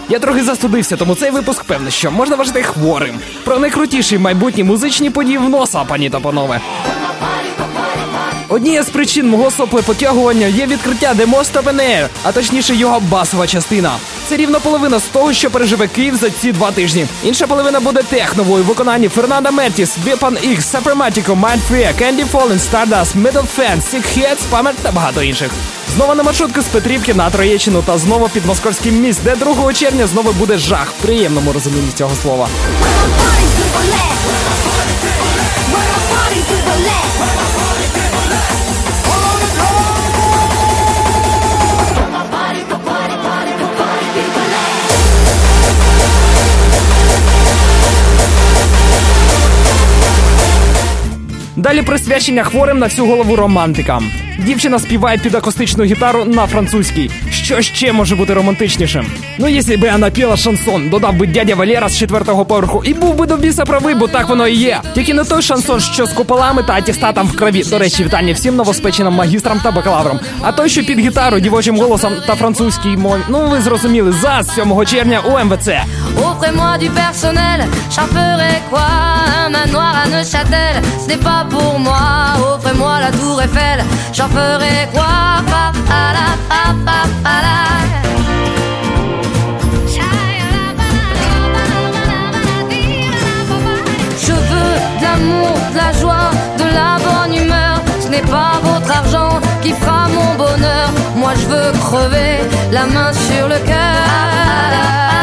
Я трохи застудився, тому цей випуск, певно, що можна вважати хворим. Про найкрутіші майбутні музичні події в носа, пані та панове. Однією з причин мого соплепотягування є відкриття The Most Open Air, а точніше його басова частина. Це рівно половина з того, що переживе Київ за ці 2 тижні. Інша половина буде техновою у виконанні Фернандо Мертіс, Weapon X, Suprematica, Mindfreak, Candy Fallen, Stardust, Metal Fan, Sick Head, Spammer та багато інших. Знову на маршрутку з Петрівки на Троєщину та знову під Московський міст, де 2 червня знову буде жах в приємному розумінні цього слова. Далі присвячення хворим на всю голову романтикам. Дівчина співає під акустичну гітару на французькій. Що ще може бути романтичнішим? Ну, якщо б я напіла шансон, додав би дядя Валера з 4-го поверху і був би до біса правий, бо так воно і є. Тільки не той шансон, що з куполами та атестатом в крові. До речі, вітання всім новоспеченим магістрам та бакалаврам. А той, що під гітару, дівочим голосом та французькій мові. Ну, ви зрозуміли, ЗАЗ 7 червня у МВЦ. Offrez-moi du personnel, j'en ferai quoi? Un manoir à Neuchâtel, ce n'est pas pour moi. Offrez-moi la tour Eiffel, j'en ferai quoi? Pa pa la pa pa pa la. Je veux de l'amour, de la joie, de la bonne humeur. Ce n'est pas votre argent qui fera mon bonheur. Moi je veux crever la main sur le cœur.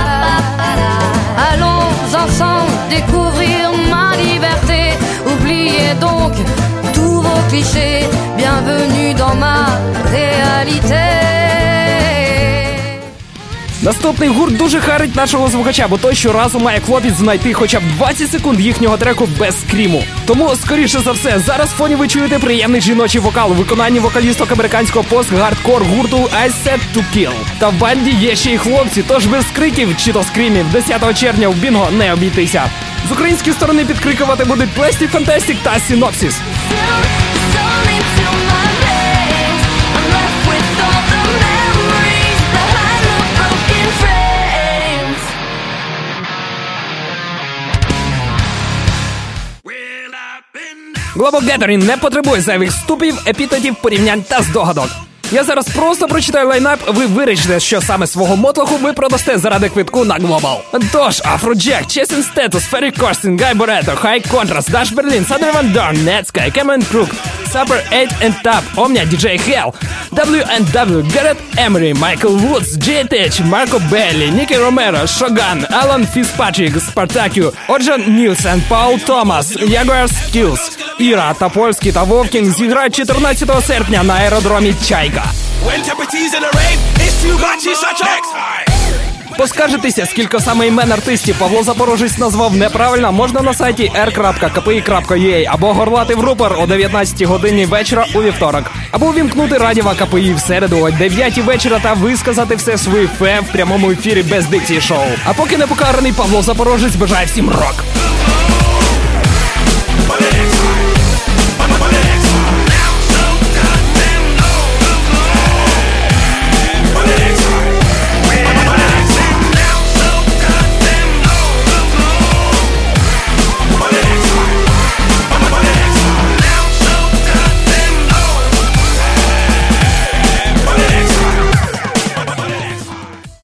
Allons ensemble découvrir ma liberté. Oubliez donc tous vos clichés. Bienvenue dans ma réalité. Наступний гурт дуже харить нашого слухача, бо той щоразу має клопіт знайти хоча б 20 секунд їхнього треку без скріму. Тому, скоріше за все, зараз в фоні ви чуєте приємний жіночий вокал у виконанні вокалісток американського пост-гардкор гурту I Set To Kill. Та в банді є ще й хлопці, тож без криків чи то скрімів 10 червня в Бінго не обійтися. З української сторони підкрикувати будуть Plastic Fantastic та Synopsis. Global Gathering не потребує зайвих вступів, епітетів, порівнянь та здогадок. Я зараз просто прочитаю лайнап, ви вирішите, що саме свого мотлоху ви продасте заради квитку на Global. Тож, Afrojack, Chasing Status, Ferry Corsten, Guy Barretto, High Contrast, Dash Berlin, Southern Van Dorn, Netsky, Cameron Crook, Super 8 and Top, Omnia, DJ Hell, W&W, Garrett Emery, Michael Woods, J-Tech, Marco Belli, Nicky Romero, Shogun, Alan Fitzpatrick, Spartaku, Orjan Nielsen, Paul Thomas, Jaguar Skills, Іра та Польський та Вовкінг зіграють 14 серпня на аеродромі Чайка. Поскаржитися, скільки саме імен артистів Павло Запорожець назвав неправильно, можна на сайті r.kpi.ua або горлати в рупор о 19 годині вечора у вівторок. Або увімкнути радіо КПІ в середу о 9 вечора та висказати все свої фе в прямому ефірі без дикції шоу. А поки не покараний Павло Запорожець бажає всім рок.